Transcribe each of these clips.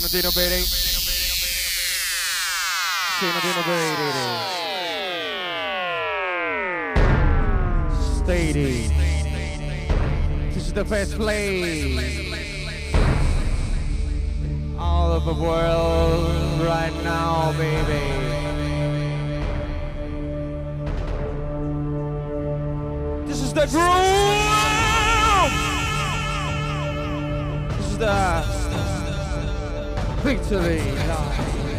Sinodino Bere. Sinodino Bere. Stadium. This is the best place all over the world right now, baby. This is the groove. This is the victory line.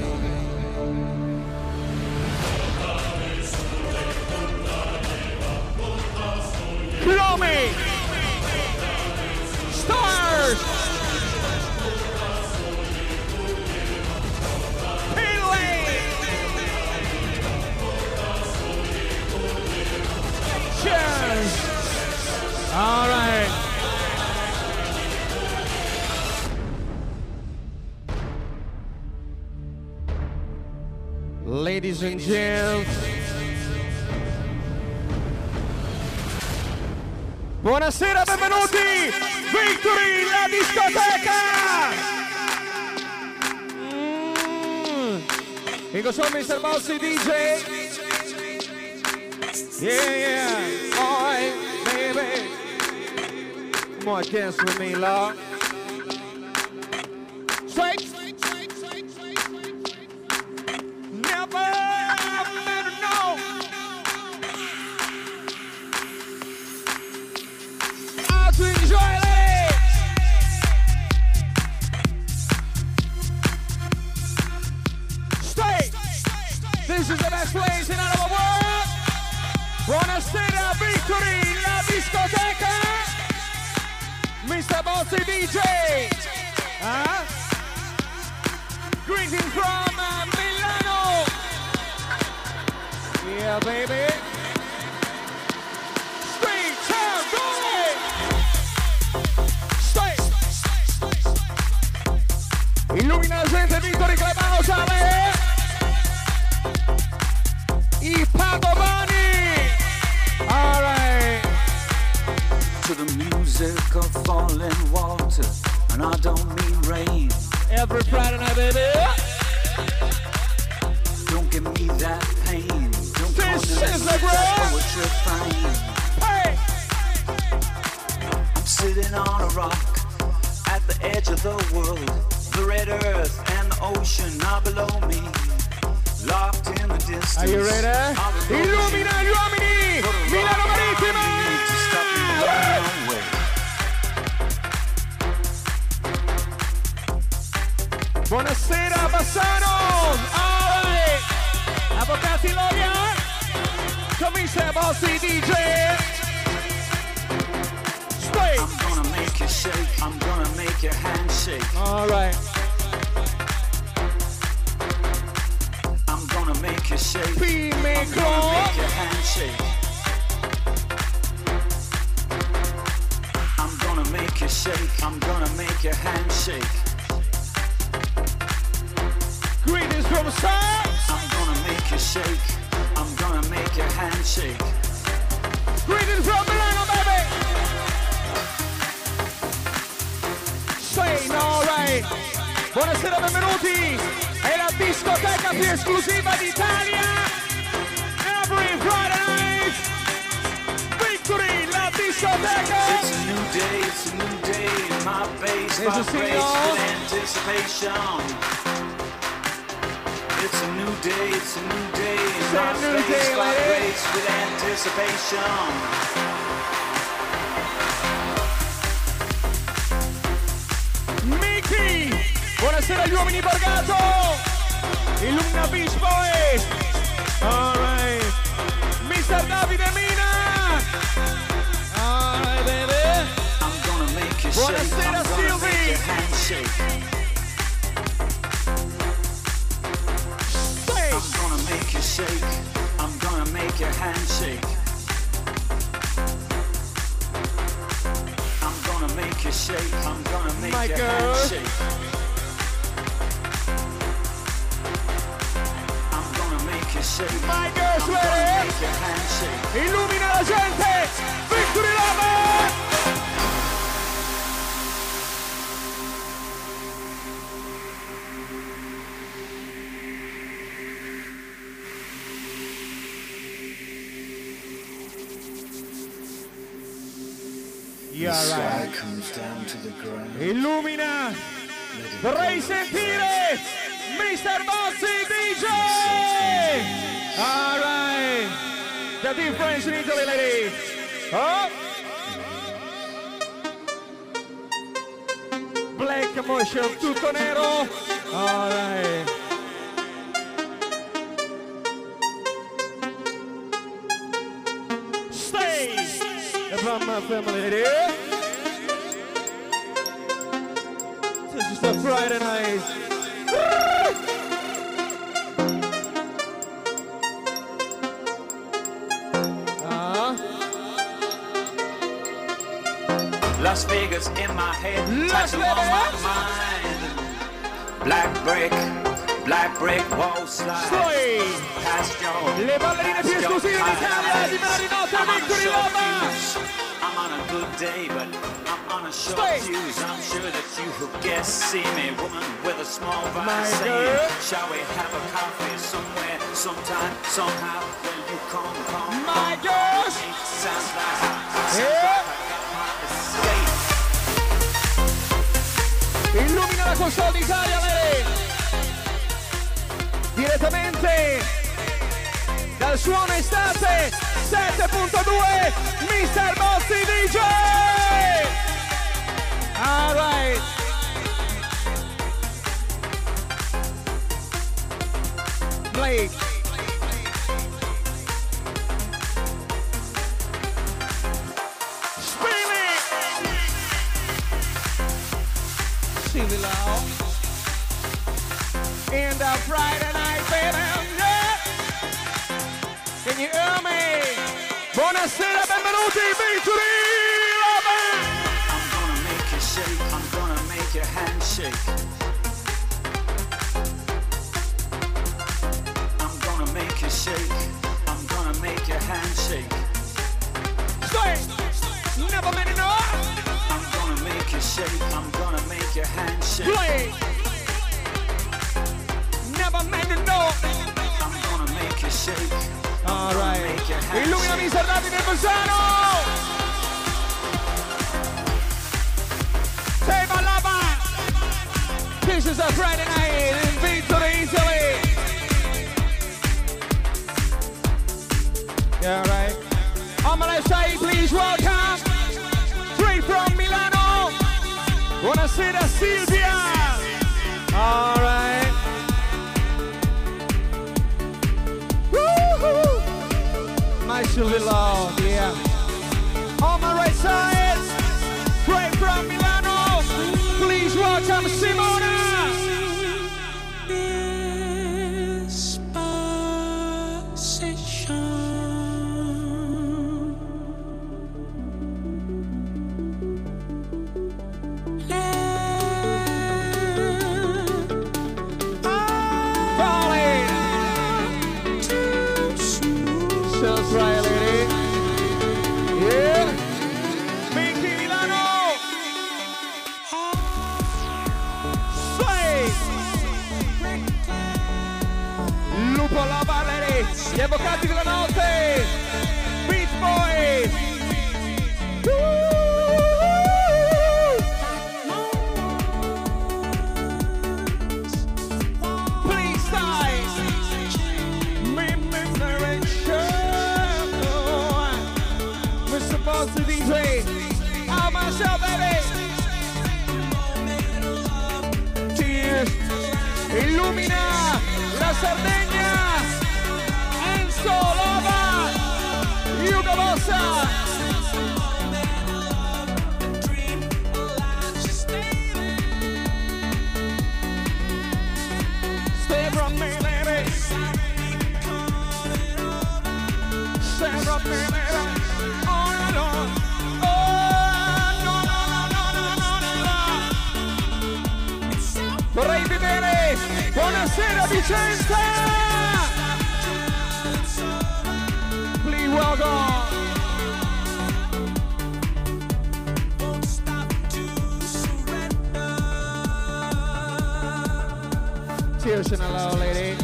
Chrome Stars Pinley Cheers. All right. Ladies and gentlemen, buonasera, benvenuti! Victory, la discoteca! Here goes Mr. Bossy DJ. Yeah. Alright, baby. Come on, dance with me, love. Straight. Never know. How to enjoy it. Straight. This is the best place in all of the world. Buonasera, Victory, la discoteca. Mr. Bossy DJ. Greetings from Milano. Yeah, baby. Straight town, go it. Straight. Illumina la gente, Victory Clubhouse, Ale. I Padovani. All right. To the music of falling water, and I don't mean rain. Every Friday night, baby. Don't give me that pain. Don't This is the poetry fine. Hey. I'm sitting on a rock at the edge of the world. The red earth and the ocean are below me. Locked in the distance. Are you ready? Illumina gli uomini! Milano Marittima! Buonasera Bassano! Alright! Avvocati lawyer! Comincia Bossy DJ! Straight! I'm gonna make you shake. I'm gonna make your hand shake. Alright. I'm gonna make you shake. I'm P-Micro! gonna make your hand shake. I'm gonna make you shake. I'm gonna make your hand shake. Greetings from Saks! I'm gonna make you shake. I'm gonna make your hand shake. Greetings from Milano, baby! Straight, alright! Buonasera, benvenuti! È la discoteca più esclusiva d'Italia! Every Friday night! Victory, la discoteca! It's a new day, it's a new day. My face There's a vibrates signal. with anticipation. It's a new day, it's a new day. It's My a new face day, lady. vibrates with anticipation. Mickey! Buonasera agli uomini Borgato! Illumina Beach Boys! Alright! Mr. Davide Mina! Alright, baby! I'm gonna make you shake. Buonasera, I'm gonna make Sylvie. your hand shake. Say! I'm gonna make you shake. I'm gonna make your hand shake. I'm gonna make you shake. I'm gonna make My your girl. hand shake. I'm gonna make you shake. My girl's I'm gonna ready! make your hand shake. Illumina la gente! Victory Love! Yeah, right. Illumina, vorrei sentire Mr. Bozzi DJ. All right, the difference in Italy, ladies. Oh. Black motion, tutto nero. All right. From my family, this is the Friday night. Las Vegas in my head, tattoo on my mind. Black brick, wall slide. Past your, le ballerine più esclusive in Italia di Marinotta Victory Loma. I'm on a good day, but I'm on a short fuse. I'm sure that you who guess see me, woman with a small vice. Saying, shall we have a coffee somewhere, sometime, somehow? When you come, my girls. Sounds like hot escape. Illumina la console d'Italia, lei. Direttamente dal suono estate 7.2 Mr. Bozzi DJ. All right. Blake. Screaming. Sing it loud. In the Friday night, baby, yeah. Can you hear me? Buonasera, benvenuti, Victory Loma. I'm gonna make you shake, I'm gonna make your hand shake. I'm gonna make you shake, I'm gonna make your hand shake. Stay, never made enough. I'm gonna make you shake, I'm gonna make your hand shake. Play. Never made enough. I'm gonna make you shake. All right. Illumina Mr. Davide Bolzano. Say my lover. This is a Friday night in Victory, Italy. Yeah, right. On my left side, please welcome, straight from Milano. Buonasera, Silvia. All right. My Silvia Love, yeah. On my right side, straight from Milano, please welcome Simona. Right, lady. Yeah. Mickey Milano. Sei. Lupo Lava, lady. Gli avvocati della notte. Beach Boys. Please stay. Supposed to be played. How myself, baby. Cheers. Illumina la Sardegna. Enzo Lova. Hugo Bossa. Stay from me, baby. Stay from me, baby. Vorrei vedere, buonasera Vicenza! Please welcome! Cheers and hello, lady.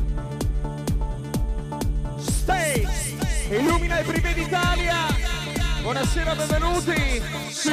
Stay! Illumina il Privé d'Italia! Buonasera, benvenuti. Sì.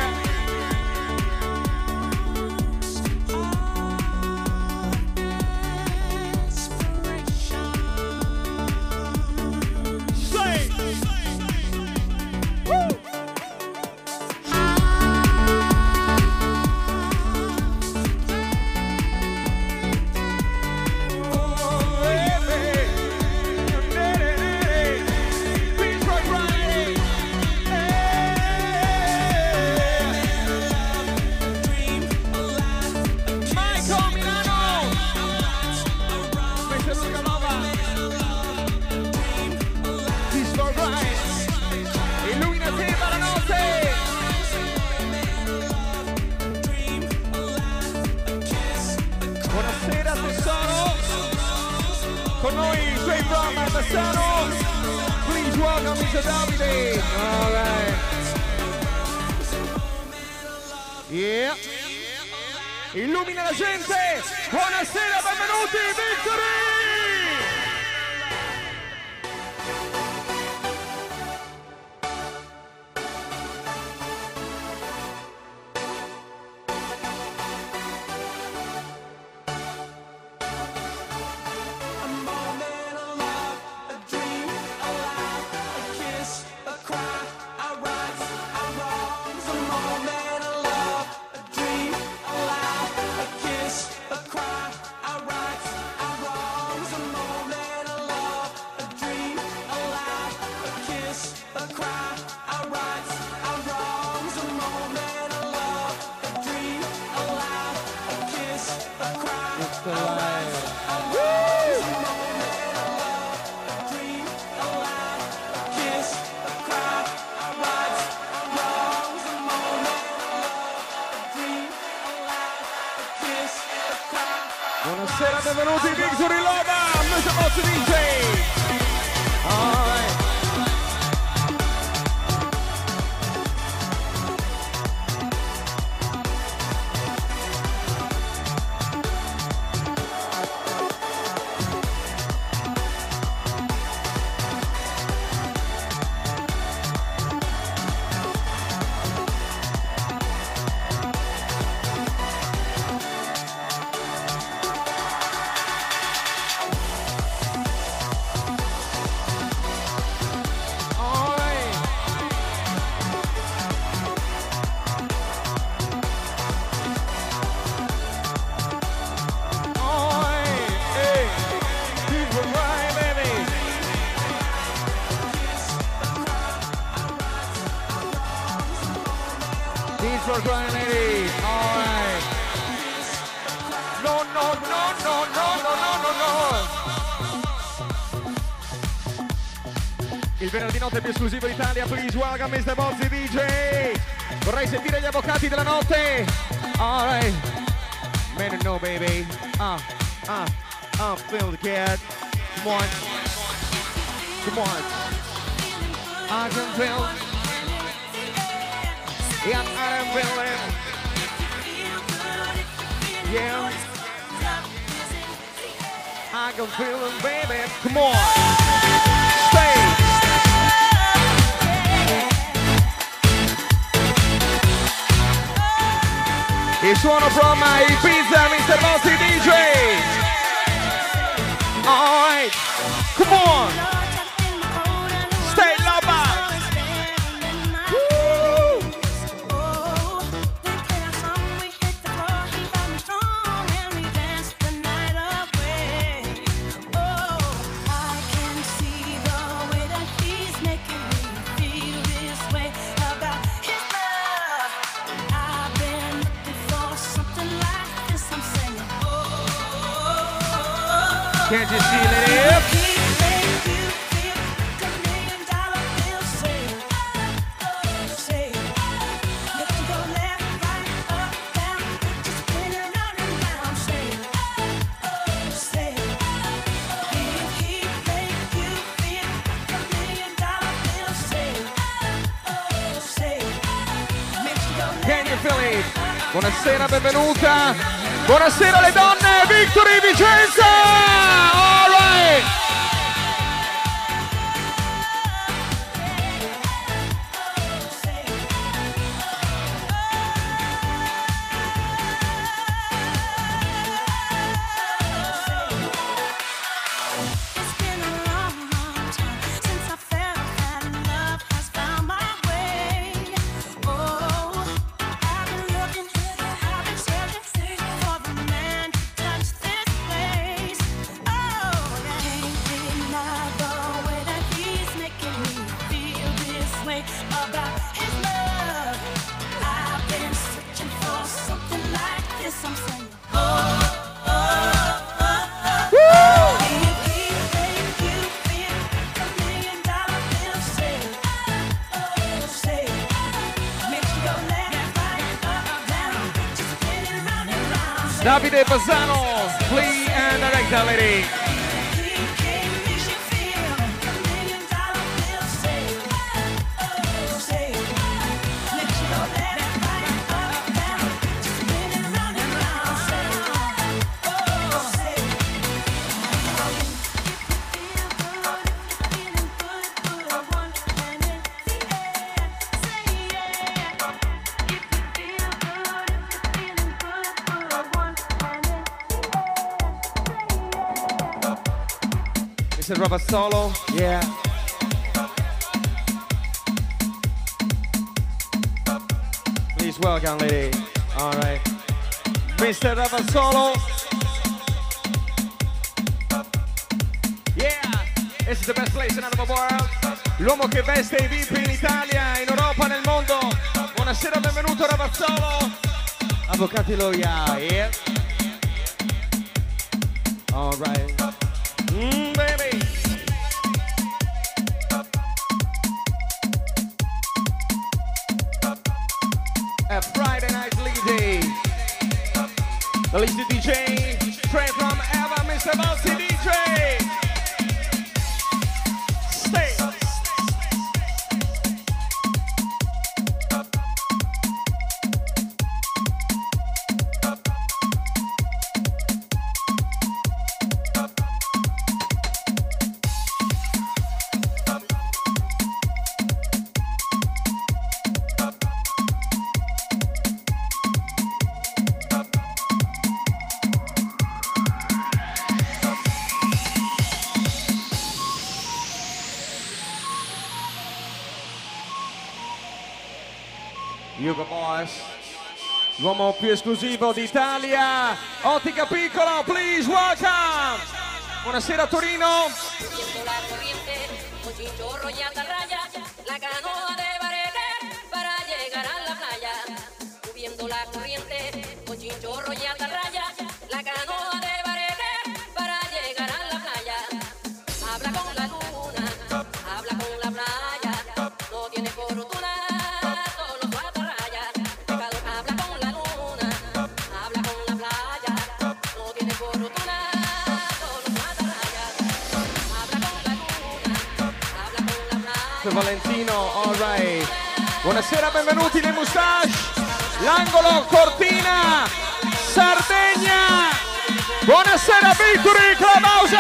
Con noi, straight from Bassano. Please welcome Mr. Davide. All right. Yeah. Illumina la gente. Buonasera, benvenuti, Victory. Buonasera, benvenuti in Victory Loba, Mr. Boss DJ. All right. For crying lady. All right. No, no, no, no, no, no, no, no. Il venerdì notte più esclusivo d'Italia. Please welcome Mr. Bozzi DJ. Vorrei sentire gli avvocati della notte. All right. Man, no, baby. Feel the cat. Come on. Come on. I can feel. Yeah, I'm feeling. Yeah. I can feel it, baby. Come on. Stay. Il suono from my pizza, Mr. Bossy DJ. All right. Come on. Stay loba. Can't you see it? Can you feel it? Buonasera, benvenuta. Buonasera alle donne, Victory Vicenza! All right! Davide Bassano, Flea and Director Lady. Mr. Ravazzolo, yeah. Please welcome, lady. All right. Mr. Ravazzolo. Yeah, this is the best place in the world. L'uomo che veste i VIP in Italia, in Europa, nel mondo. Buonasera, benvenuto Ravazzolo. Avvocati Loia, yeah. All right. Baby. A Friday night lady. The lady DJ, straight from Eva, Mr. Bossy DJ. Stay. Hugo Boss, l'uomo più esclusivo d'Italia, Ottica Piccolo, please welcome! Buonasera Torino! Subiendo la corriente, con chinchorro y atarraya, la canoa de barete para llegar a la playa. Subiendo la corriente, con chinchorro y atarraya, la canoa de barete para llegar a la playa. Habla con la luna, habla con la playa, no tiene fortuna. Valentino, all right. Buonasera, benvenuti nei Moustache. L'angolo Cortina, Sardegna. Buonasera, Victory Clubhouse.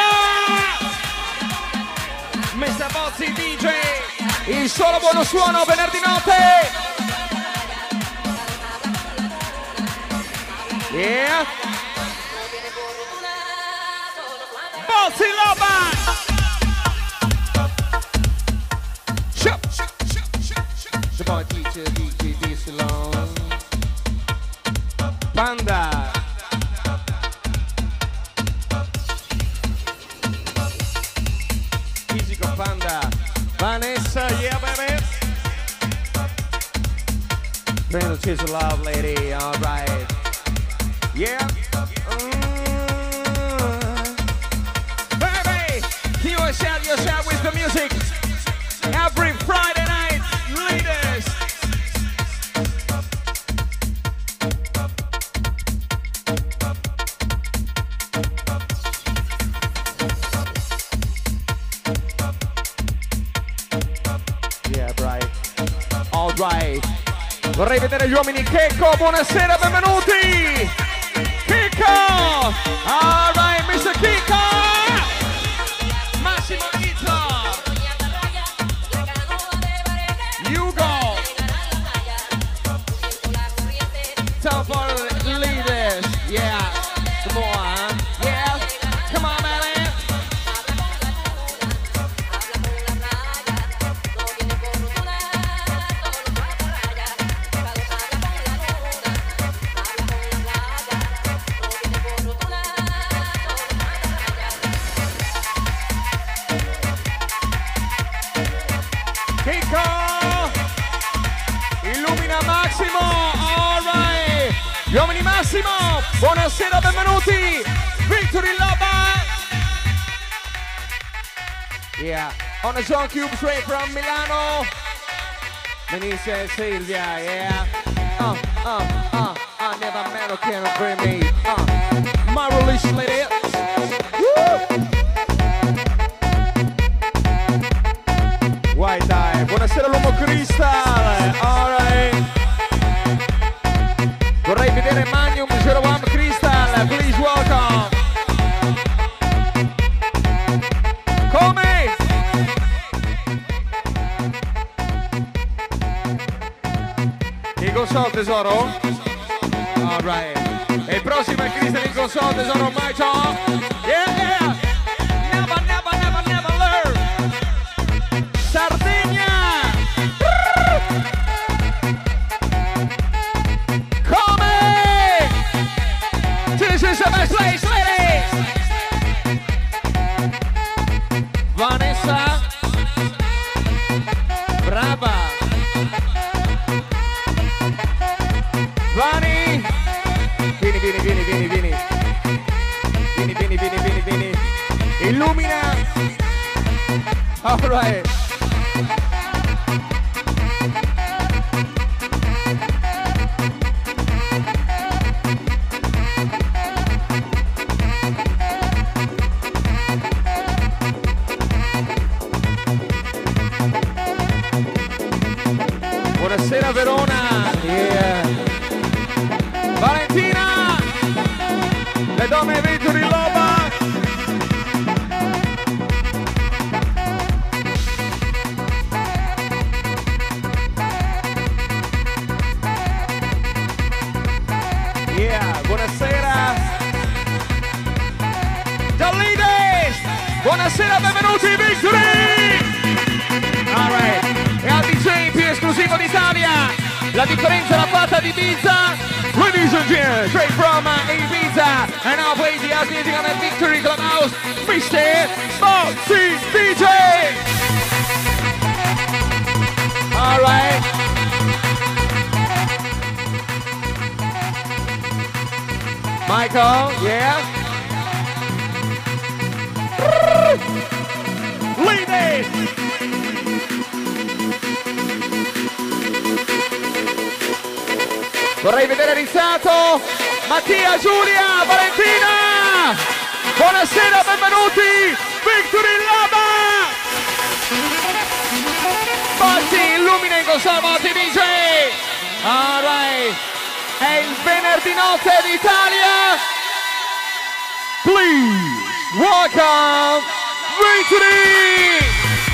Mr. Bozzi DJ, il solo buono suono venerdì notte. Yeah. Bozzi Loba. The boy teacher, DJ Salon. Panda. Fisico Panda. Vanessa, yeah baby. Brandon, she's a love lady, alright. Yeah. Baby, you shout yourself with the music. Every Friday night, leaders. Yeah, right. All right. Vorrei vedere gli uomini. Checco, buonasera, benvenuti. Chicco. All right, Mr. Chicco. Massimo Rizzo. Time for the leaders, yeah. Some more, huh? Yeah. Come on, man. Kiko! Illumina Massimo! All right! Gli uomini Massimo! Buonasera, benvenuti! Victory Loba! Yeah, on the Zone Cube straight from Milano. Benicia and Silvia, yeah. I never met can bring me. My release lady. White Eye, buonasera l'uomo Crystal. Alright. Vorrei vedere Magnum 01 Crystal, please welcome. Come? In console tesoro? Alright. E il prossimo è Crystal in console tesoro, my top. Yeah, yeah. Never, never, never, never learn. Sardegna. Come? This is the best place, ladies. Vanessa. Brava. Vani. Vieni, vieni, vieni, vieni, vieni. Vieni, vieni, vieni, vieni, vieni. Illumina. All right. Buonasera Verona. Yeah. Valentina. Le donne Victory Loba. Yeah, buonasera. Dallides. Buonasera, benvenuti Victory. All right. E al DJ più esclusivo d'Italia, la differenza l'ha fatta di Ibiza. Ladies and gentlemen, straight from Ibiza, and now play the house music on the Victory Clubhouse, Mr. Bossy DJ. All right. Michael, yeah. Ladies. Vorrei vedere Rizzato, Mattia, Giulia, Valentina. Buonasera, benvenuti, Victory Lava. Batti, illumina in conservati DJ. All right. È il venerdì notte d'Italia. Please welcome Victory.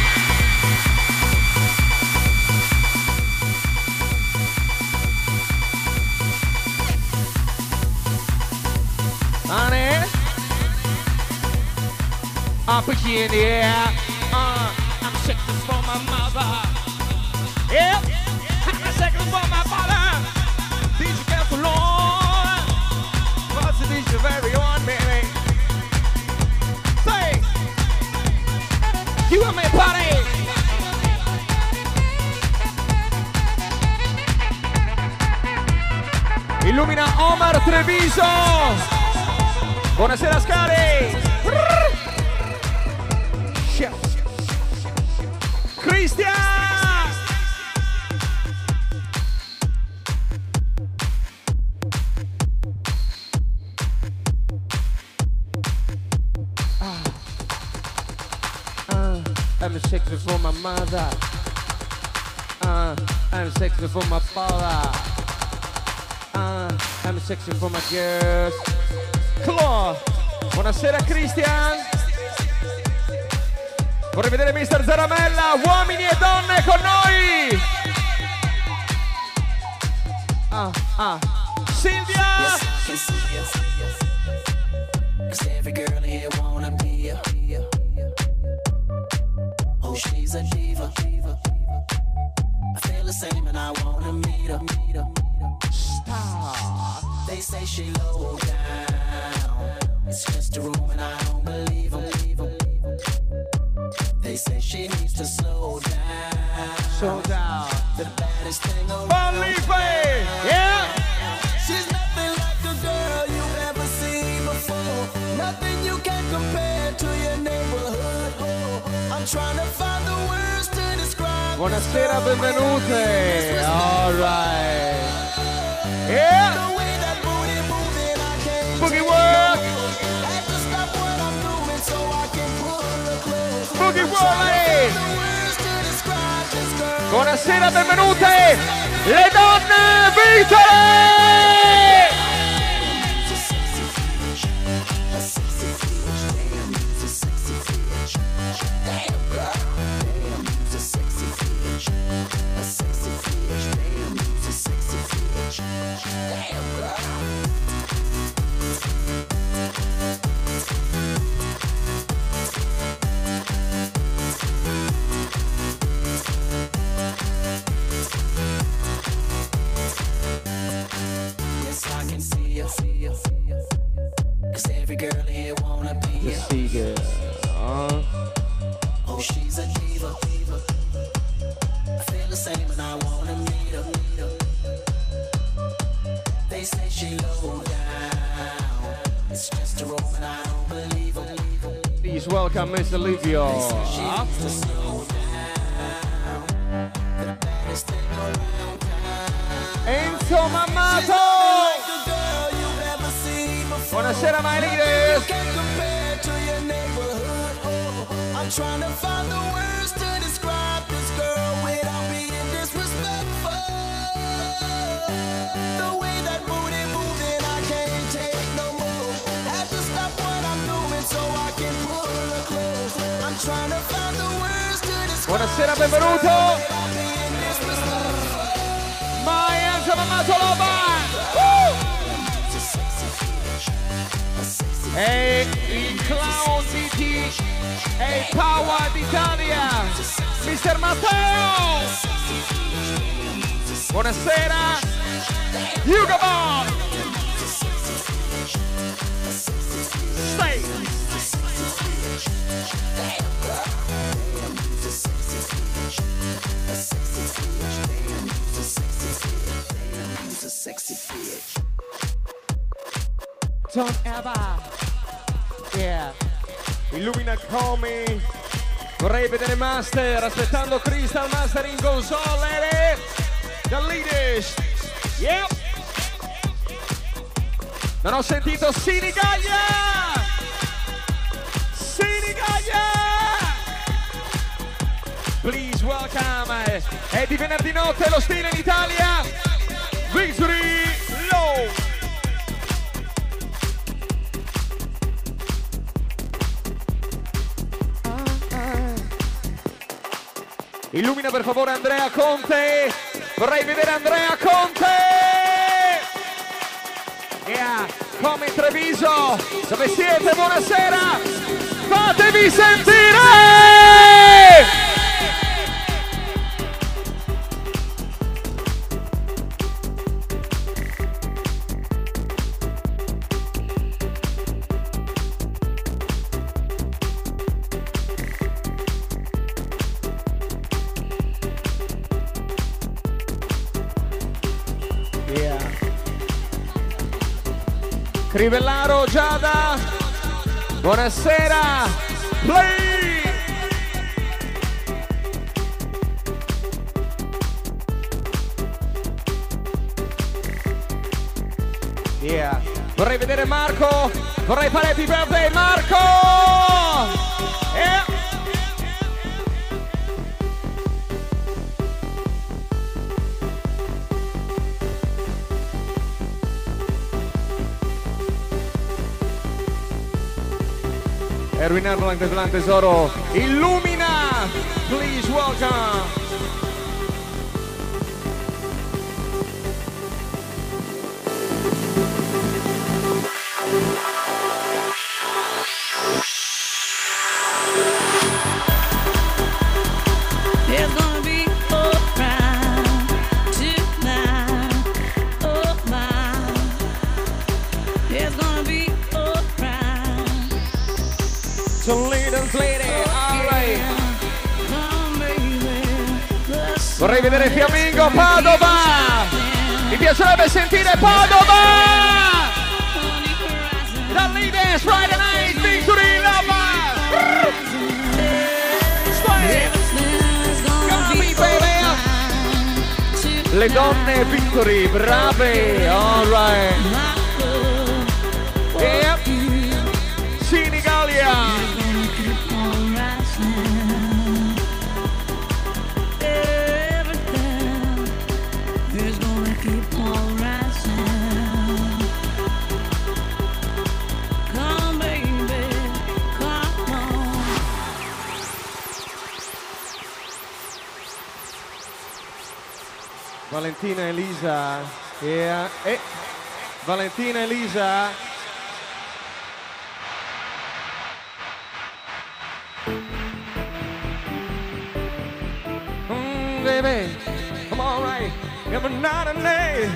Honey, I'll put you in the air. I'm sick for my mother. Yep, I'm sick for my father. Did you get too long? What's the dish of everyone, baby? Say, you and me party. Illumina Omar Treviso. Buonasera Scari! Cristian! I'm sexy for my mother. I'm sexy for my father. I'm sexy for my girls. Claw. Buonasera Christian. Vorrei vedere Mr. Zaramella, uomini e donne con noi. Silvia. Oh, she's a diva. I feel the same and I wanna meet her. Stop. They say she low down. It's just a room and I don't believe them. They say she needs to slow down. Slow down. The baddest thing around. Felipe! Yeah! She's nothing like a girl you've ever seen before. Nothing you can compare to your neighborhood. I'm trying to find the words to describe. Buonasera, benvenute! Alright! Yeah! The way that booty Buonasera, benvenute le donne Vitale! Oh, she's a diva. I feel the same and I wanna meet her. They say she low down. It's just a rope and I don't believe her. Please welcome Mr. Livio. Enzo Mammato. Buonasera, my ladies. I'm trying to find the words to describe this girl without being disrespectful. The way that booty moving, I can't take no more. Have to stop what I'm doing so I can pull her close. I'm trying to find the words to describe. Buonasera, benvenuto. My Enzo Mammato Loba. E il clown di e il power d'Italia, Mr. Matteo. Buonasera, Hugo Boss. Stay. Don't ever. Yeah. Illumina come. Vorrei vedere Master, aspettando Crystal Master in console. The leaders. Yep. Non ho sentito Sinigaglia. Sinigaglia. Please welcome. È di venerdì notte lo stile in Italia. Victory Low. Illumina per favore Andrea Conte. Vorrei vedere Andrea Conte. Yeah, come in Treviso. Dove siete? Buonasera. Fatevi sentire. Crivellaro, Giada, buonasera, play! Yeah, vorrei vedere Marco, vorrei fare happy birthday Marco! Yeah. Erwin Erlang del Plan Tesoro, illumina, please welcome. There's gonna be a crowd tonight, oh my. There's gonna be a crowd. So little lady, alright. Vorrei vedere Fiammingo, Padova. Mi piacerebbe sentire Padova. The leaders, Friday night, Victory Lava. Le donne Victory, brave, alright. Yep. Senigallia. Valentina Elisa. Yeah. Valentina Elisa. Baby, I'm alright. Every night and day.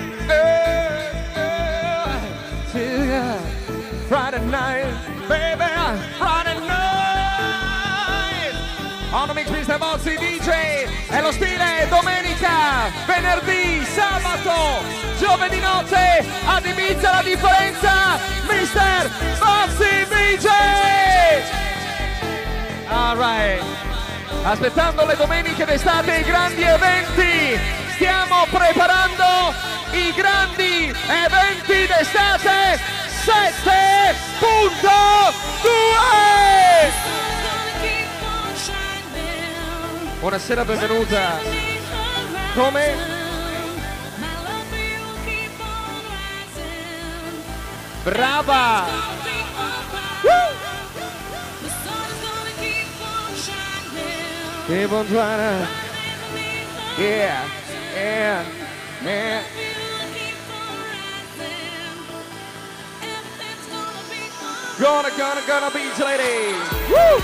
Friday night, baby, Friday night. On the mix Mr. Bozzi DJ. È lo stile domenica, venerdì, sabato, giovedì notte. Ad Ibiza la differenza, Mr. Bozzi DJ. Alright. Aspettando le domeniche d'estate e i grandi eventi, stiamo preparando i grandi eventi d'estate 7.2. Buonasera, benvenuta. Come? Brava! Keep on trying to, yeah, yeah, yeah. Gonna beach lady. Woo!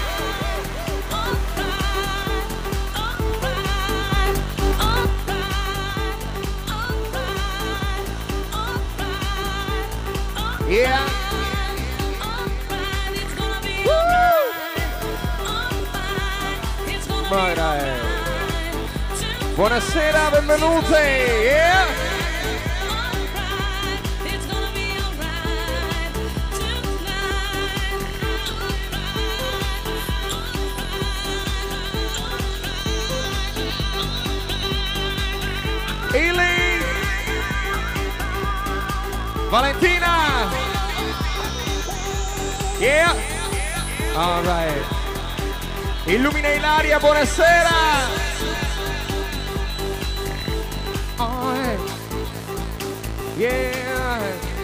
Yeah. Buonasera, benvenute! Yeah. Ili! Valentina! Yeah! All right. Illumina Ilaria, buonasera! Yeah,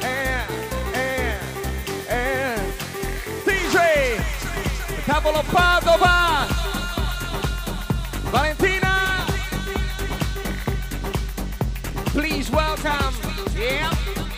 DJ Tavolo Padova, Valentina, please welcome. Yeah.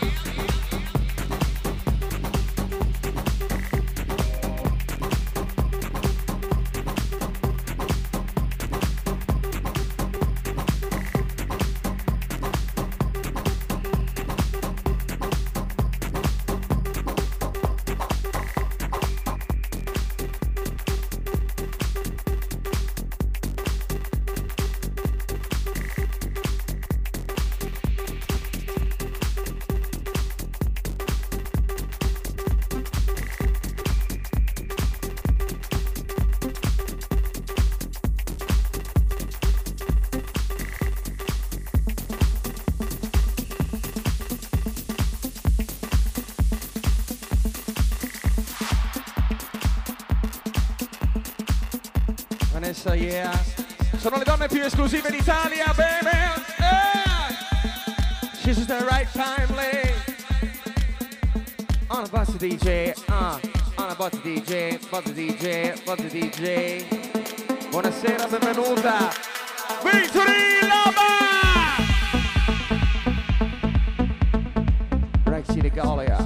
Yeah. Sono le donne più esclusive d'Italia, baby. She's just the right time, lady. On a buzz DJ, on a buzz DJ, buzz DJ, buzz DJ. Buonasera, benvenuta. Victory Lama! Rexy de Gallia.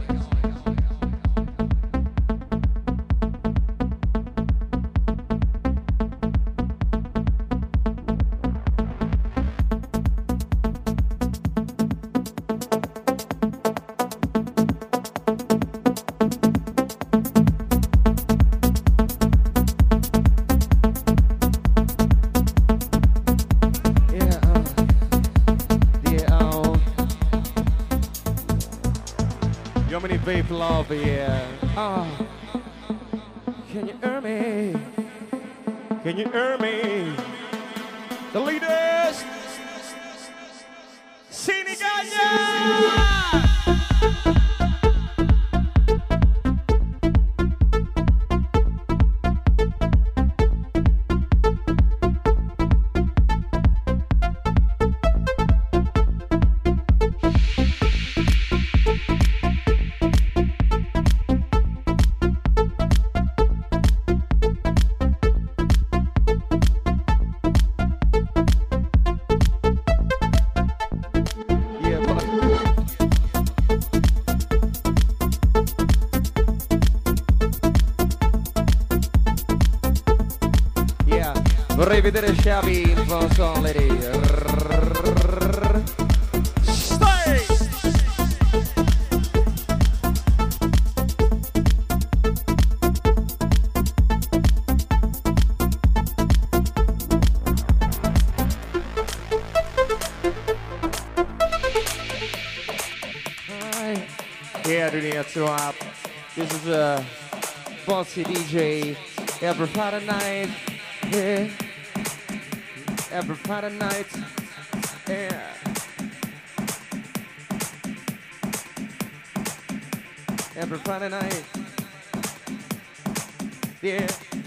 Vape love, yeah. Oh. Can you hear me? Can you hear me? The leaders, Sinigaglia! Vorrei vedere Sciavi in fondo, lady. Stay! Yeah, dude, so this is a bossy DJ every Friday night. Yeah, every Friday night. Yeah. Every Friday night. Yeah.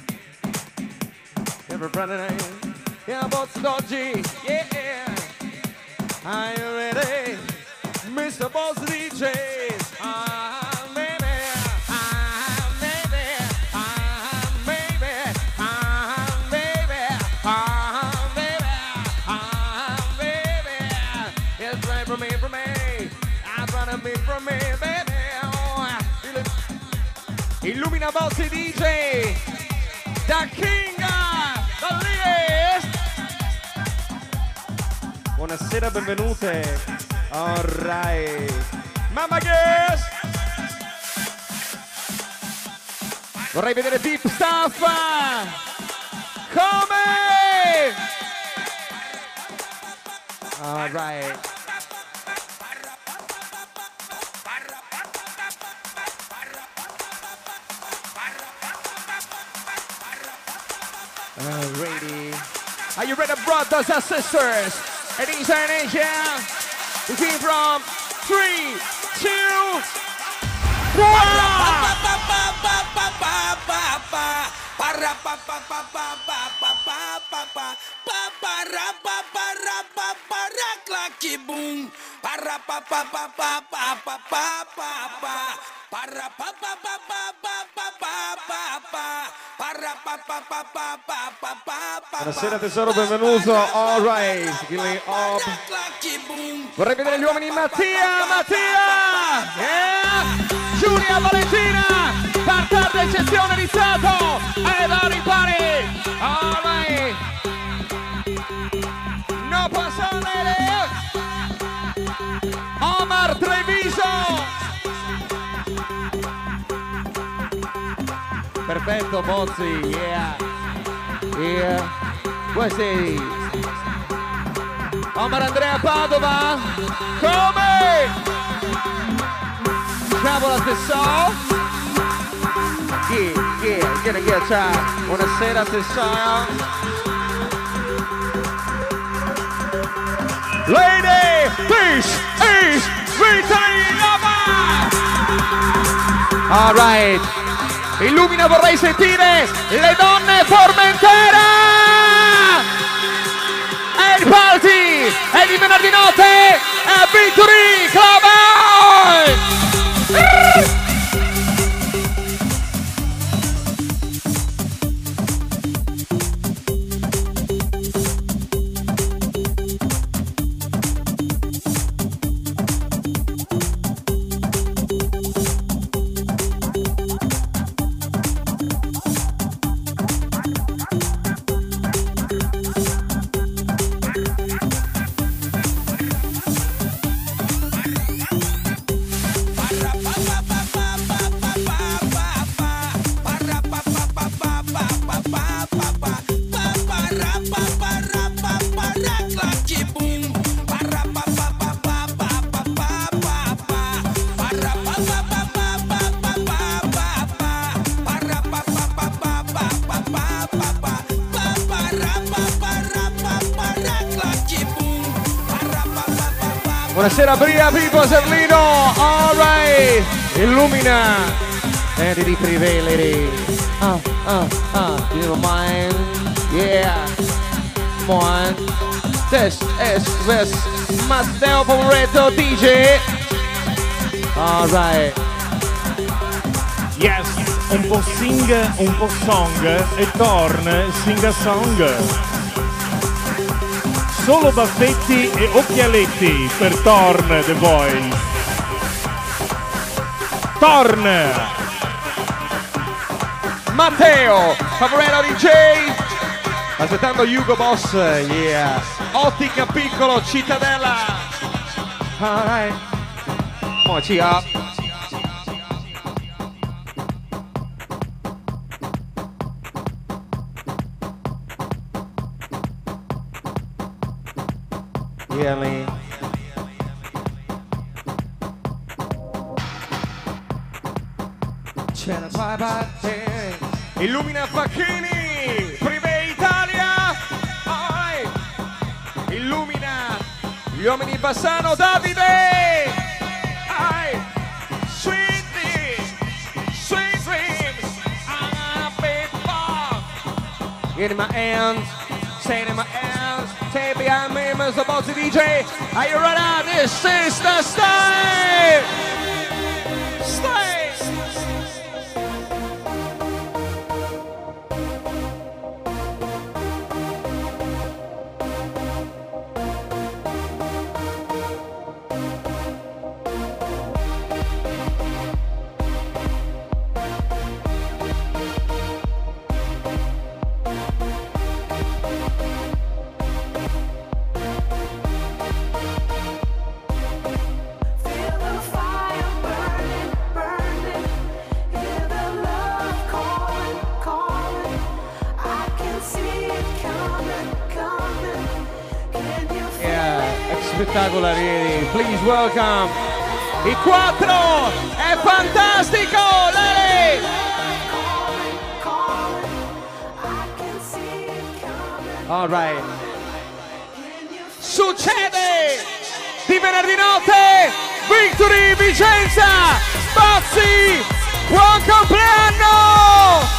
Every Friday night. Yeah, bossy doggy. Yeah. Are you ready? Mr. Boss DJ, baby, baby, baby, baby, baby, it's right from me, I'm trying to be from me, baby. Illumina Boss DJ, da King, da List. Buonasera, benvenute. Alright, Mamma Guess! Vorrei vedere Deep Stuff! Come? Alright. Alrighty. Are you ready, brothers and sisters? Ladies and Asia? We came from 3, 2, 1. Buonasera tesoro, benvenuto. All right, Gilly up. Vorrei vedere gli uomini. Mattia, yeah. Giulia, Valentina, parterre eccezione iniziato e da ripari. All right. No passare. Omar Treviso. Perfetto, Bozzi, yeah. Yeah. Questi. Omar Andrea Padova. Come? Cavola Tessò. Yeah, ciao. Buonasera Tessò. Lady, this is Rita Lava. All right. Illumina, vorrei sentire le donne Formentera! E il party è di venerdì notte a Victory Club! Buonasera Bria, Pippo, Serlino, all right, illumina, and di privelere, you don't mind, yeah, come on, this is Matteo Poveretto DJ, all right, yes, un po' sing, un po' song, e Torn sing a song. Solo baffetti e occhialetti per Torn The Voice. Torn! Matteo, Favorello DJ, Aspettando Hugo Boss, yeah. Ottica Piccolo, Cittadella. Alright. Mochi up. Yeah, man. C'è la tua parte. Illumina Facchini. Privé Italia. Alright. Illumina gli uomini di Bassano. Davide. Alright. Sweet dreams. I'm a big ball. In my hands. Stay in my hands. Stay behind me, Mr. Bossy DJ. Are you ready? This is the style. Style. Spettacolari, please welcome i 4, è fantastico, Lele! All right. Succede di venerdì notte, Victory Vicenza, Bozzi, buon compleanno!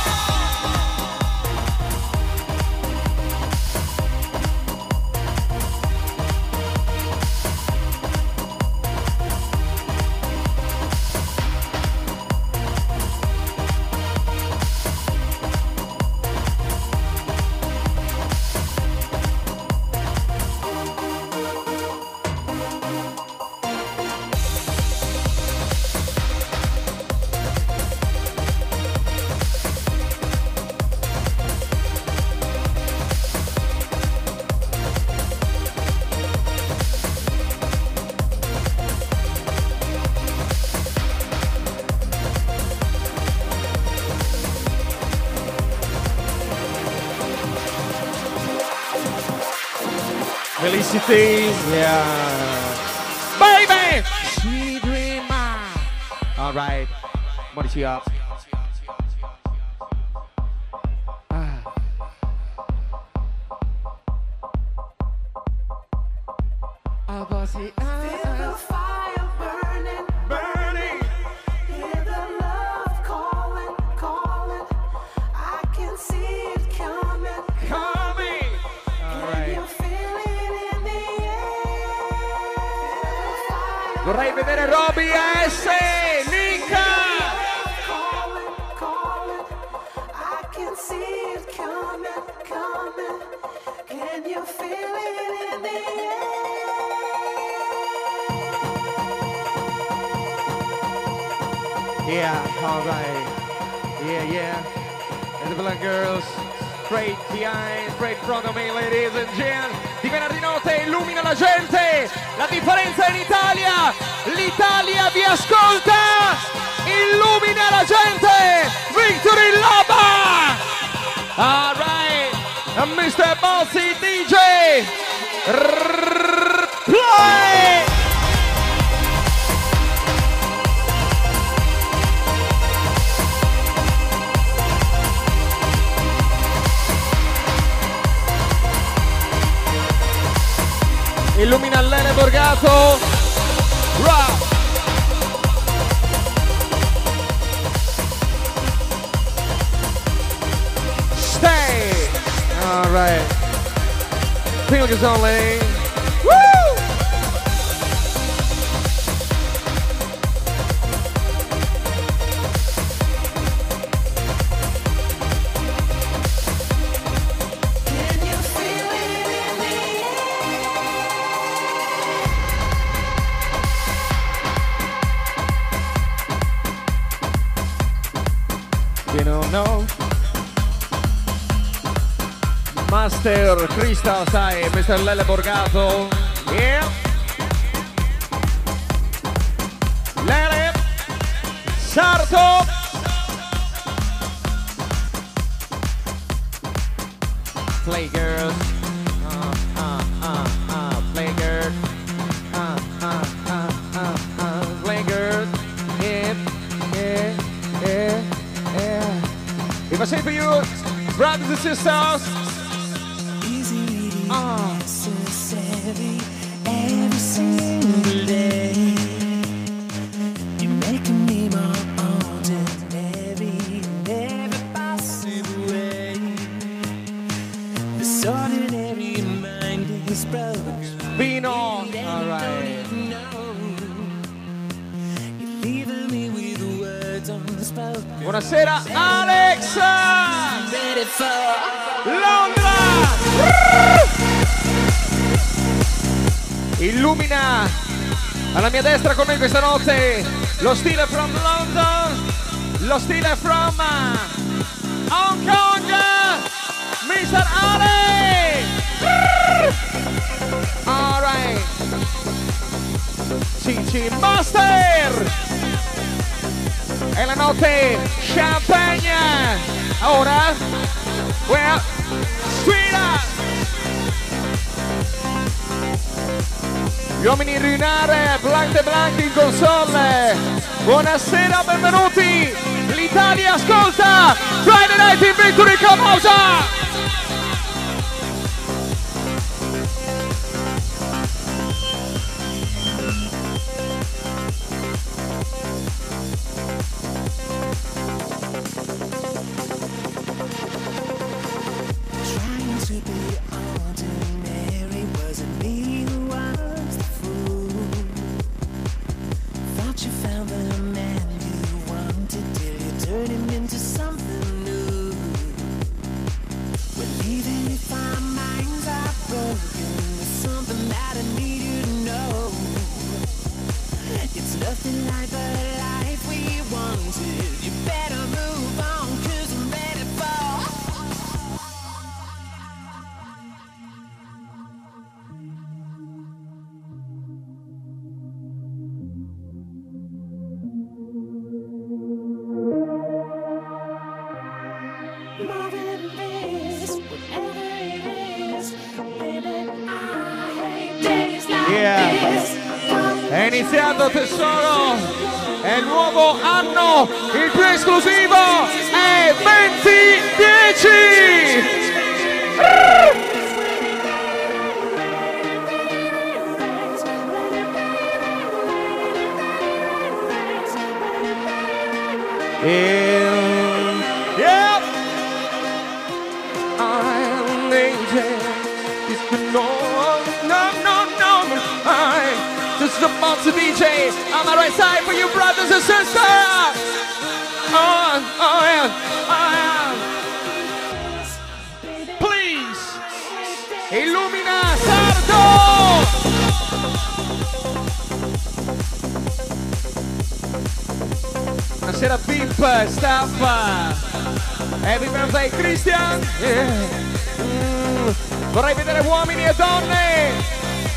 Felicity, yeah. Baby! Sweet dreamer. All right. Modici up. Vorrei vedere Roby S, Nika. Yeah, all right. Yeah. And the black girls, straight behind, straight front of me, ladies and gents. Di venerdì notte illumina la gente, la differenza in Italia, l'Italia vi ascolta, illumina la gente, Victory Loba! All right, and Mr. Bossy DJ, play! Illumina Lele Borgato. Rock. Stay. All right. Pilgrims only. Woo! You don't know. Master Crystal, sai, Mr. Lele Borgato. Yeah. Lele. Sarto. Play girls. Play girls. Play girls. Yeah. If I say for you, brothers and sisters. Necessary every single day. You're making me more ordinary in every possible way. This ordinary mind is broken. Vino. Alright. You're leaving me with words unspoken. Buonasera Alex. Ready for Londra. Illumina alla mia destra con me questa notte lo stile from London, lo stile from Hong Kong, Mr. Ale. Alright, Cici Master. È la notte champagne. Ora, well, sfida. Gli uomini in Rinare, Blanc de Blanc in console. Buonasera, benvenuti. L'Italia ascolta. Friday Night in Victory, Camosa. trying to be ordinary. Wasn't me who was the fool. Thought you found the man you wanted till you turned him into something new. Well, even if our minds are broken, there's something that I need you to know. It's nothing like the life we wanted. You better move on, 'cause I'm ready for more than this, whatever it is. Baby, I hate days like Yeah. this. È iniziato tesoro, è il nuovo anno, il più esclusivo è 2010! Yeah! I'm an angel, it's the no, I'm just a monster DJ. On the right side for you brothers and sisters. Oh yeah. Please, illumina Sardo. Buonasera Pip, staff. Happy birthday Christian. Yeah. Vorrei vedere uomini e donne.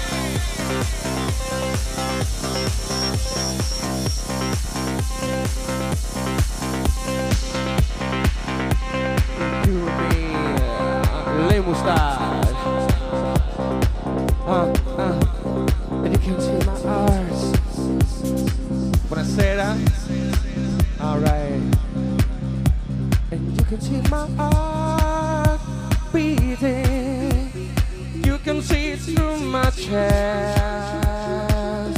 Le moustache. And you can see my eyes. Buonasera. Alright. And you can see my heart beating. You can see it through my chest.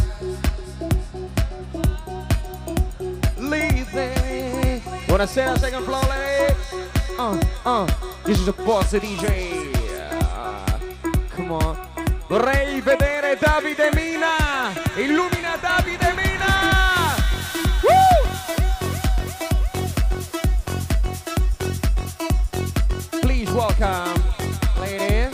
Leaving. Buonasera, second floor lady. This is a boss DJ. Come on. Vorrei vedere Davide Mina. Illumina Davide Mina. Woo! Please welcome, lady.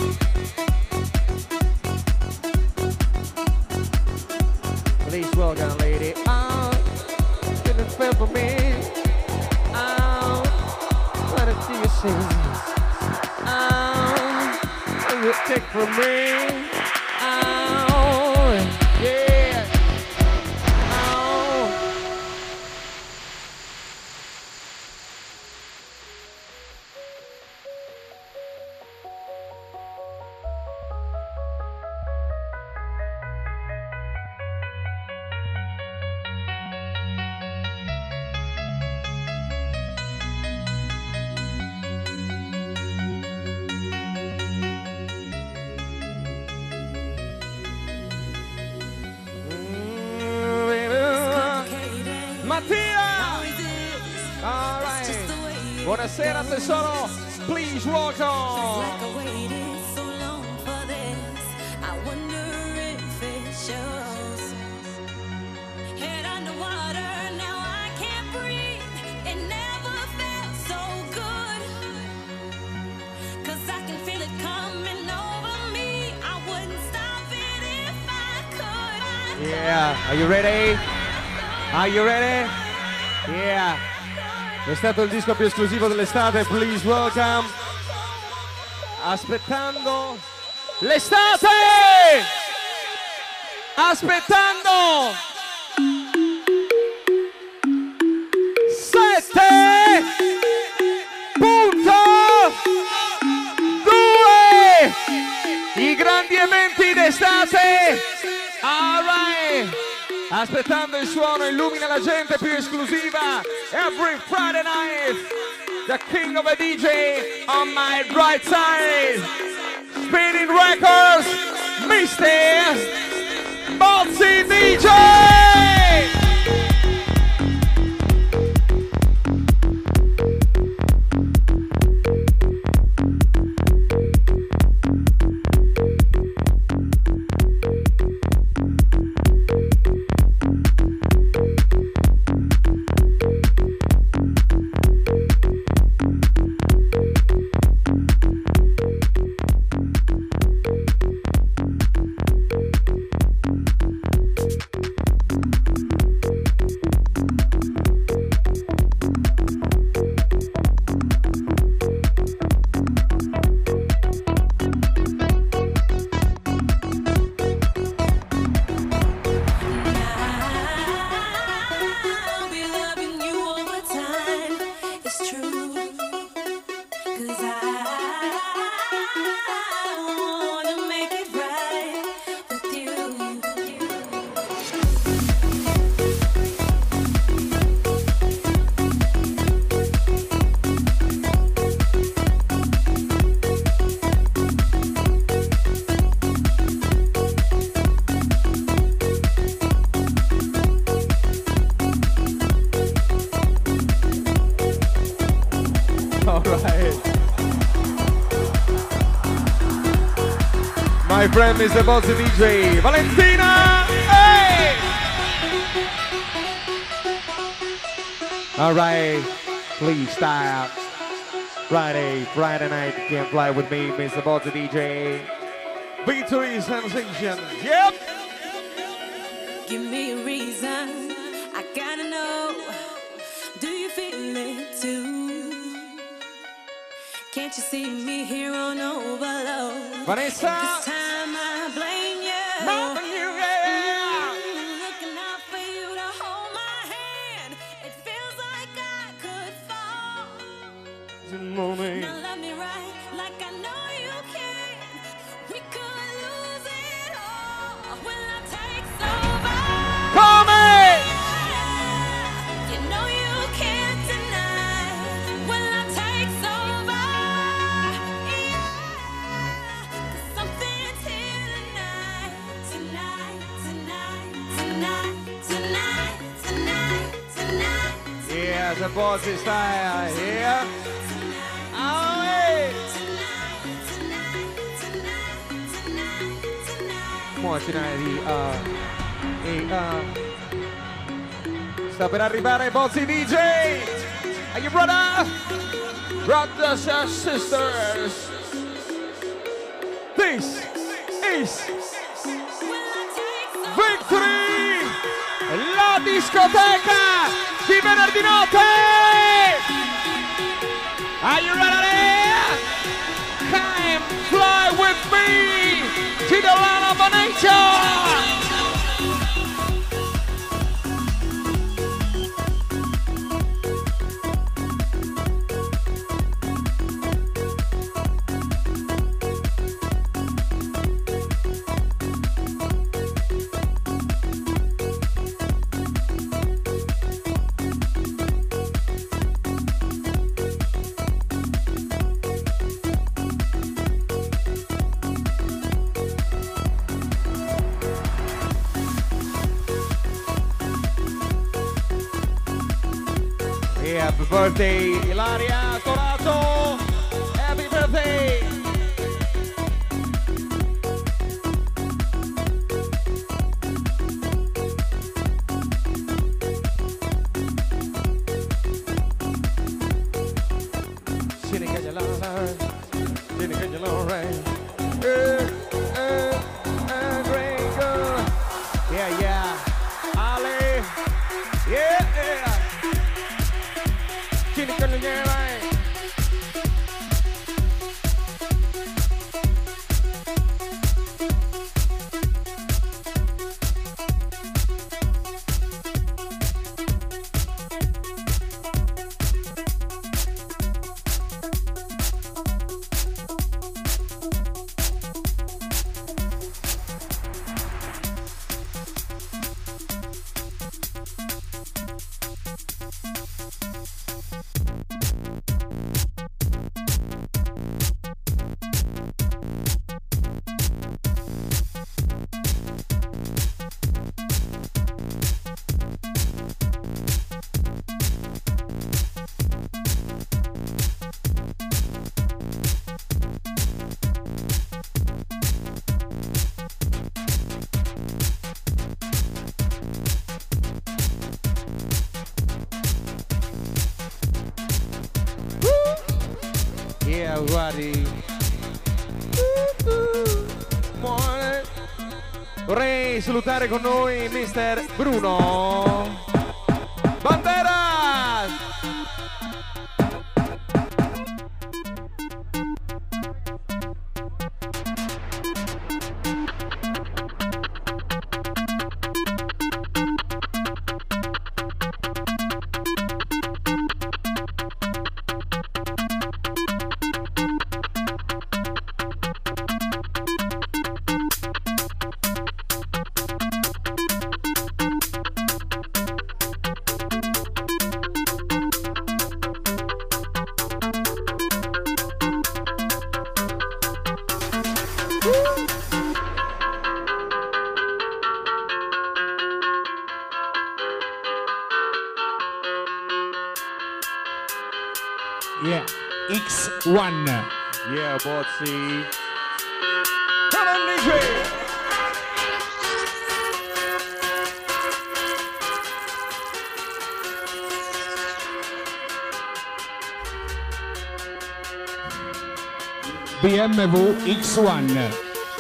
Please welcome, lady. Oh, didn't feel for me. Oh, what did you say? Oh. you take from me. Oh, yeah. Oh. Buonasera tesoro, please welcome. Yeah, are you ready? Are you ready? Yeah. È stato il disco più esclusivo dell'estate, please welcome. Aspettando l'estate! Aspettando 7.2 i grandi eventi d'estate. All right. Aspettando il suono, illumina la gente più esclusiva. Every Friday night, the king of a DJ on my right side. Spinning records, Mr. Bozzy DJ. My friend Mr. Bozzy DJ, Valentina! Hey! All right, please stop. Friday night, you can fly with me, Mr. Bozzy DJ. Victory sensation, yep! Give me a reason, I gotta know. Do you feel it too? Can't you see me here on overload? Vanessa! This time I blame you. More than you, yeah! Looking out for you to hold my hand. It feels like I could fall. Now love me right, like I know you can. We could lose it all. Will I take over? Come in! You know you can't deny. Will I take over? Yeah. 'Cause something's here tonight. Tonight. Yeah, the Bozzy style, yeah! Oh, hey! Come tonight, sta per arrivare Bozzy DJ! Are you brothers and sisters? This is Victory! La discoteca di venerdì notte! Are you ready? Come fly with me! amici dell'Ana Bonencia! Happy birthday, Ilaria Corato! Happy birthday! Great girl. Yeah, yeah. Ale. Yeah. Chini con le vai. Yeah, guardi. Vorrei salutare con noi Mr. Bruno Banderas. Yeah, X1. Yeah, Bozzi. Come on, DJ. BMW X1.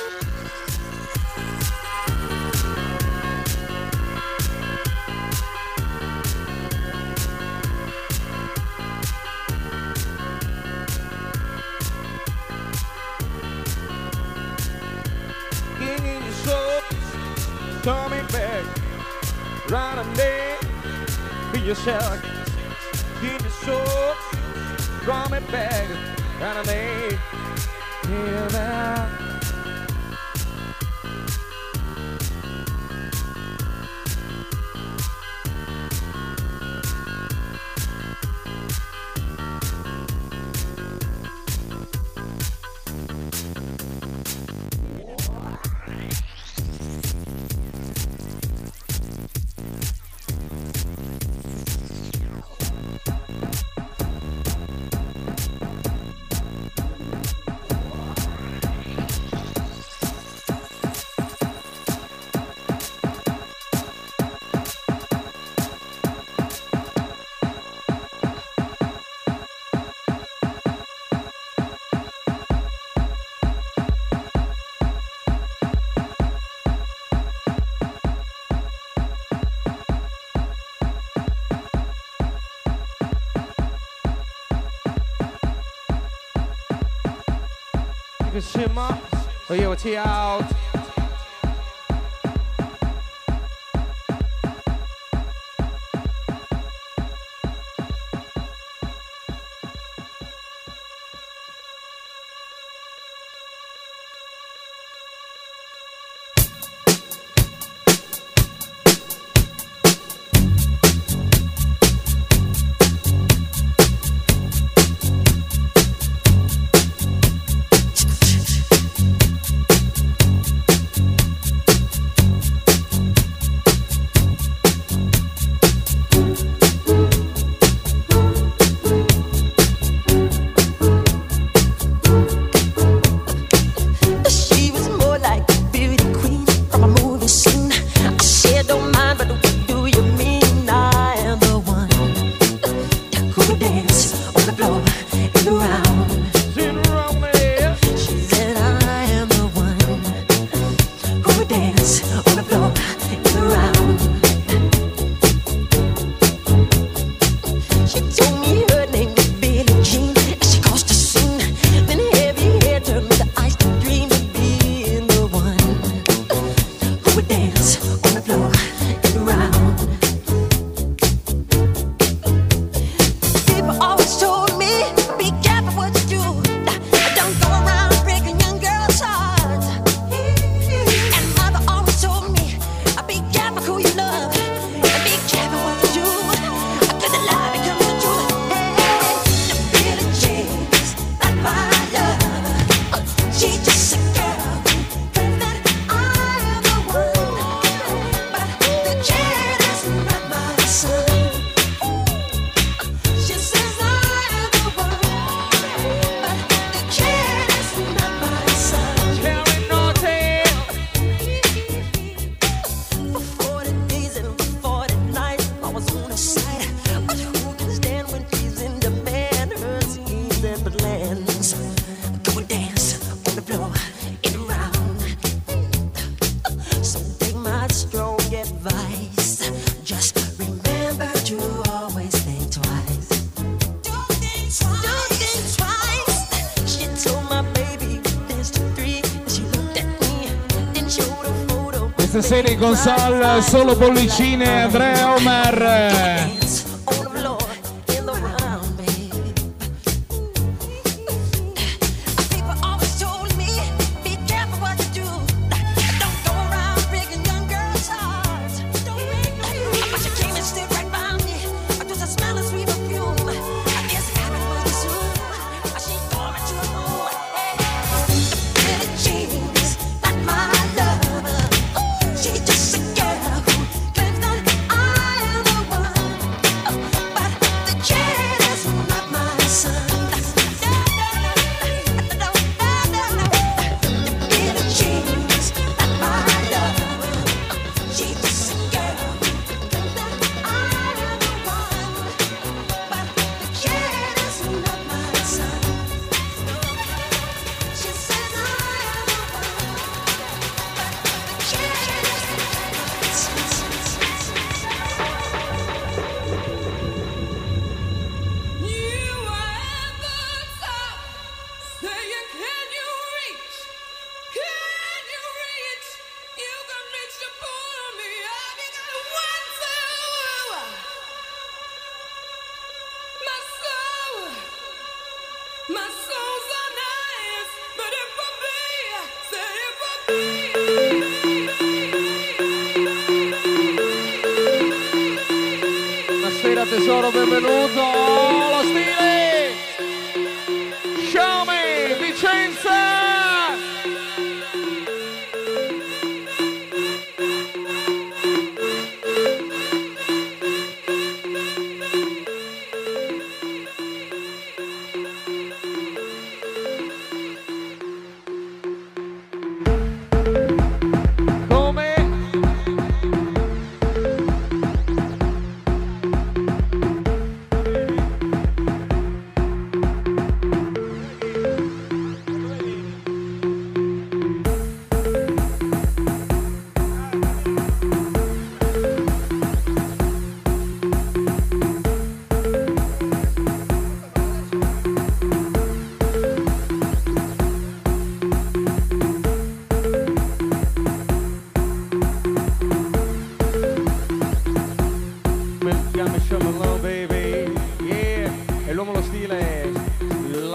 Coming back, right on there, be yourself, give the soul, coming back, right on there, feel that. Shimmer, Oh, yo, T out. Stasera in console solo bollicine Andrea Omer. Tesoro, benvenuto, lo stile, show me, Vicenza.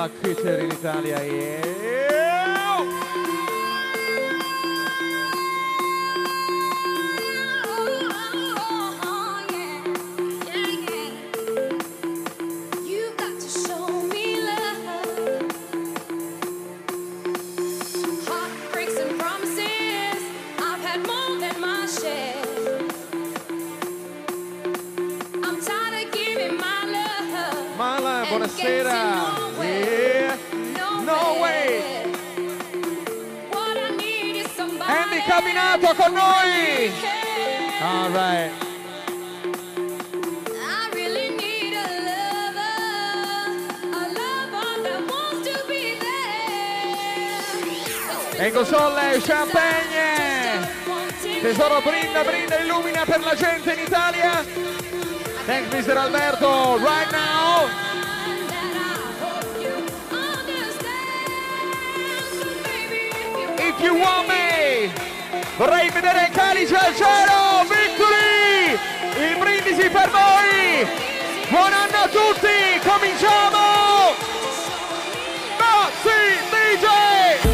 la culture in Italia. Yeah. You've got to show me love. Heartbreaks and promises, I've had more than my share. I'm tired of giving my love. Mala, buonasera. Yeah. No way. What I need is somebody. Andy Cabinato con noi. All right. I really need a lover that wants to be there. E Gosolle, champagne. Tesoro, brinda, brinda, illumina per la gente in Italia. Thanks Mr. Alberto, right now. If you want me. Vorrei vedere il calice al cielo, victory! Il brindisi per voi! Buon anno a tutti, cominciamo! Mazzi DJ!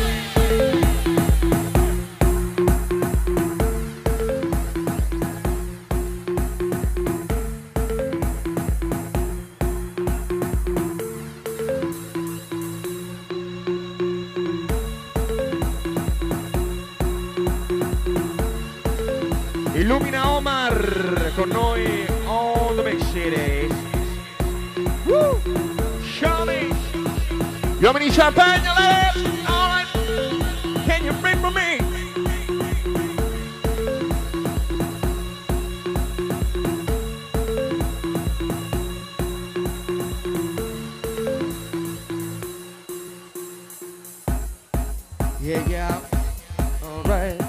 Illumina Omar con noi on the big city. Woo! Show me. Gli uomini champagne, all right. Can you bring for me? Yeah, yeah. All right.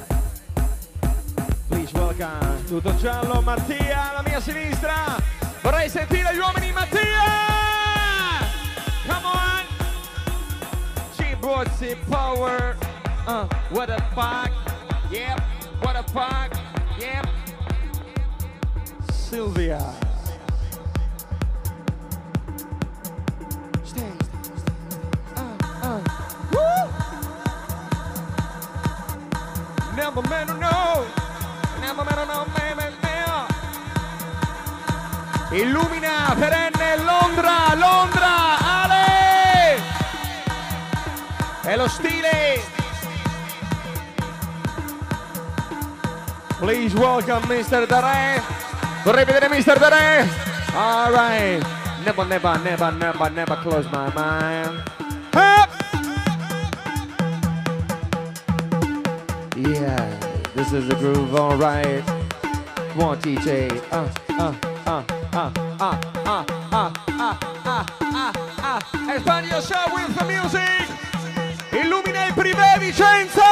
Welcome. Tutto giallo, Mattia alla mia sinistra. Vorrei sentire gli uomini, Mattia. Come on. G-Bossy Power. What a fuck. Yep. What a fuck. Yep. Sylvia. Stay. Woo. Never man to know. Illumina perenne Londra, Londra, Ale! È lo stile! Please welcome Mr. Dare. Vorrei vedere Mr. Dare. All right. Never, never, never, never, never close my mind. Up! Yeah. This is the groove, all right. Come on, DJ. Expand yourself with the music. Illumina il privé Vicenza.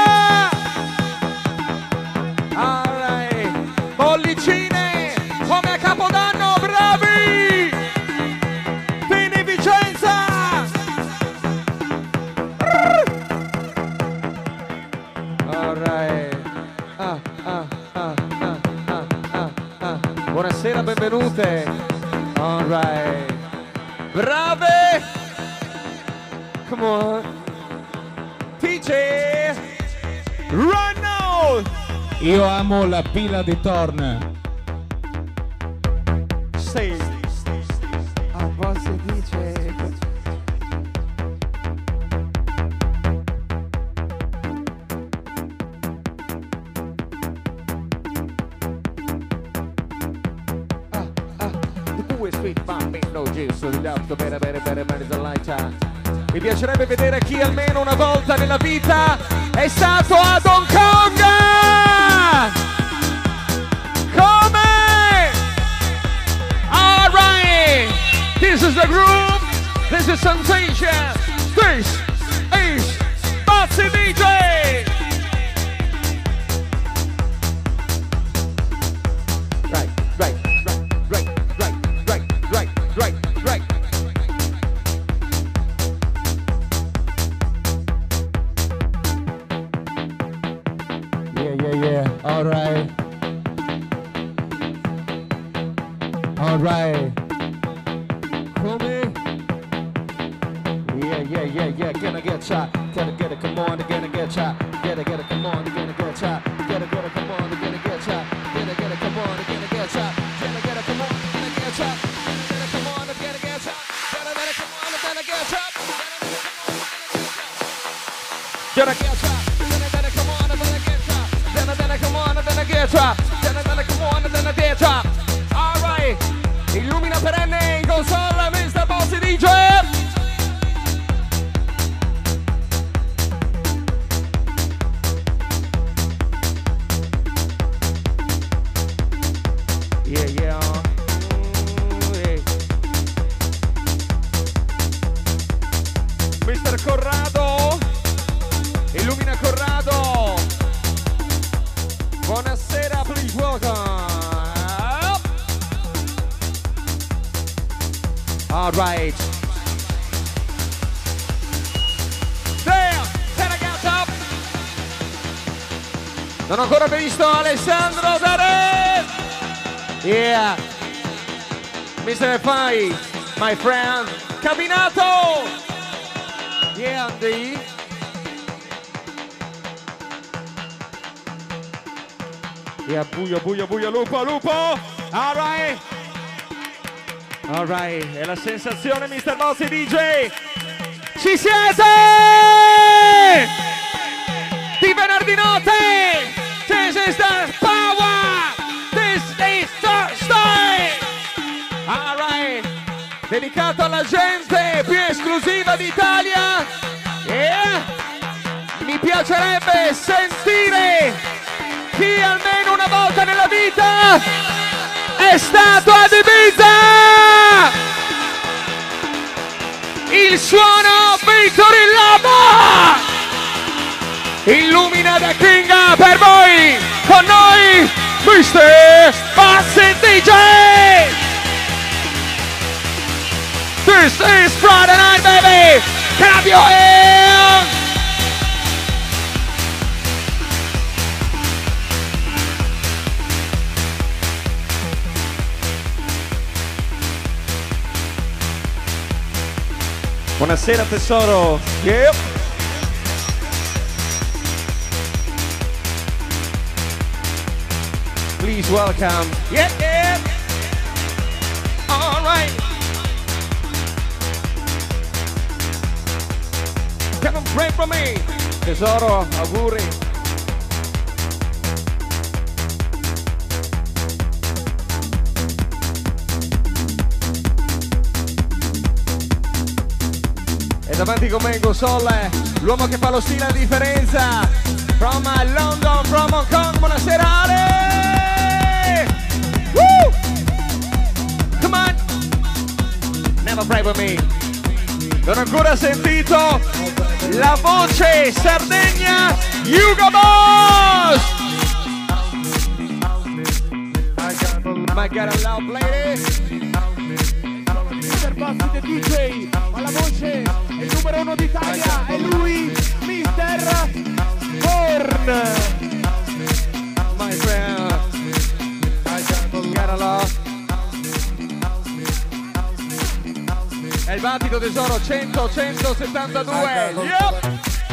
All right. Bollicine come a Capodanno, bravi. Fini Vicenza. All right. Buonasera, benvenute. All right. Brave. Come on. TJ. Right now. Io amo la pila di Torn. Stay. Ah, boss DJ. Mi piacerebbe vedere chi almeno una volta nella vita è stato ad Hong Kong! Come? All right! This is the groove, this is sensation, this is Bazzi DJ! Right. Yeah. All right. Come. Yeah, gonna get shot. Get it, come on, gonna get shot. Get it, come on, gonna get shot. Get it, come on, gonna get shot. Get it, come on, gonna get shot. Get it, come on, gonna get shot. Get it, come on, gonna get shot. Get it, come on, gonna get shot. Get it, come on, gonna get shot. Get it, come on, gonna get shot. Get it, come on, gonna get shot. All right, illumina perenne in console, Mr. Bossy DJ. Yeah. Mr. Corrado, illumina Corrado. Buonasera, please welcome. All right. There, up. Non ho ancora visto Alessandro Dare. Yeah. Mr. Fai, my friend. Cabinato. Yeah, Andy. Yeah, buio, lupo. All right. È la sensazione, Mr. Bossy DJ. Ci siete? Di venerdì notte. This is the power. This is Thursday. All right. Dedicato alla gente più esclusiva d'Italia. Yeah. Mi piacerebbe sentire chi almeno una volta nella vita è stato ad Ibiza. Il suono Victory Lava illumina da Kinga per voi, con noi Mr. Bossy DJ. This is Friday night, baby. Clap your hands. Buonasera tesoro. Yep. Please welcome. Yeah. All right. Come pray for me. Tesoro, auguri. Davanti con me in console, l'uomo che fa lo stile a differenza. From London, from Hong Kong, buonasera Ale! Woo! Come on! Never pray with me. Non ho ancora sentito la voce Sardegna Hugo Boss! My God, I love ladies! Mr. Bossy the DJ, alla voce il numero 1 d'Italia è lui, Mr. Born. My friend, gotta love. È il battito tesoro 172. Yep.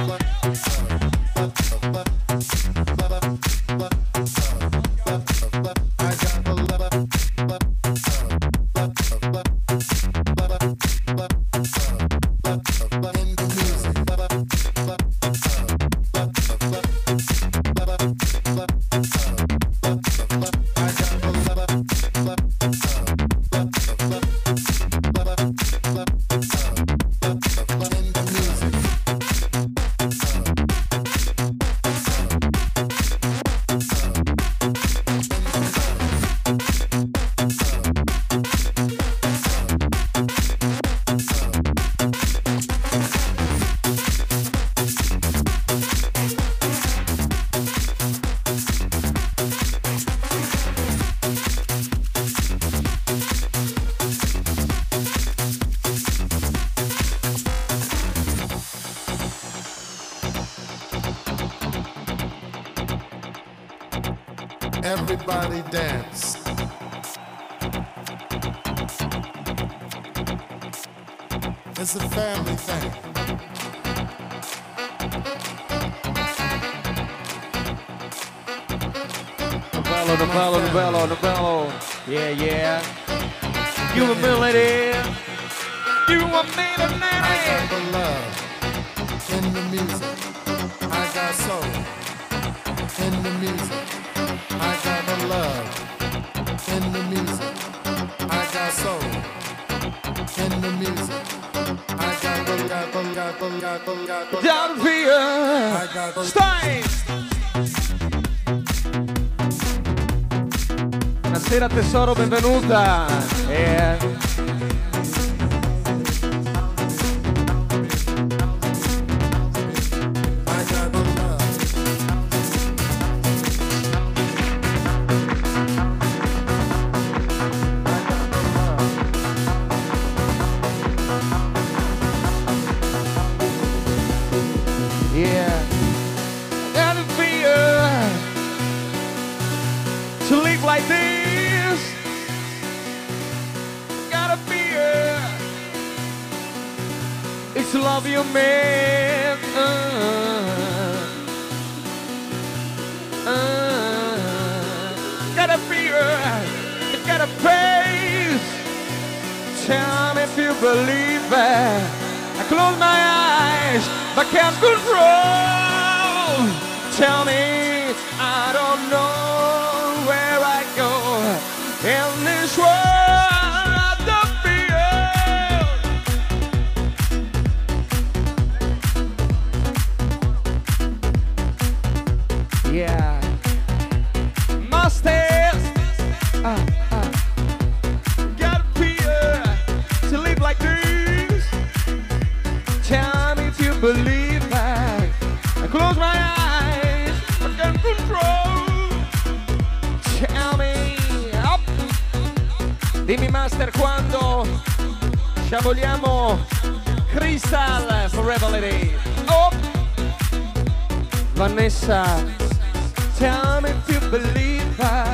Everybody dance. It's a family thing. Novello. Yeah. Humility. You are made of I got the love in the music. I got soul in the music. I got the love in the music. I got soul in the music. I got the Don't fear. I got the Stai. Buonasera tesoro, benvenuta. I got the love. Yeah. Don't fear to live like this. Gotta fear. It's love you man. Gotta fear. Gotta face. Tell me if you believe it. I close my eyes, but can't control. Tell me, I don't know where I go in this world of the field. Yeah, must have. Gotta fear to live like this. Tell me if you believe that. I close my eyes, I can't control. Tell me up. Dimmi master quando sciaboliamo Crystal Forever Lady. Oh. Vanessa, tell me if you believe that.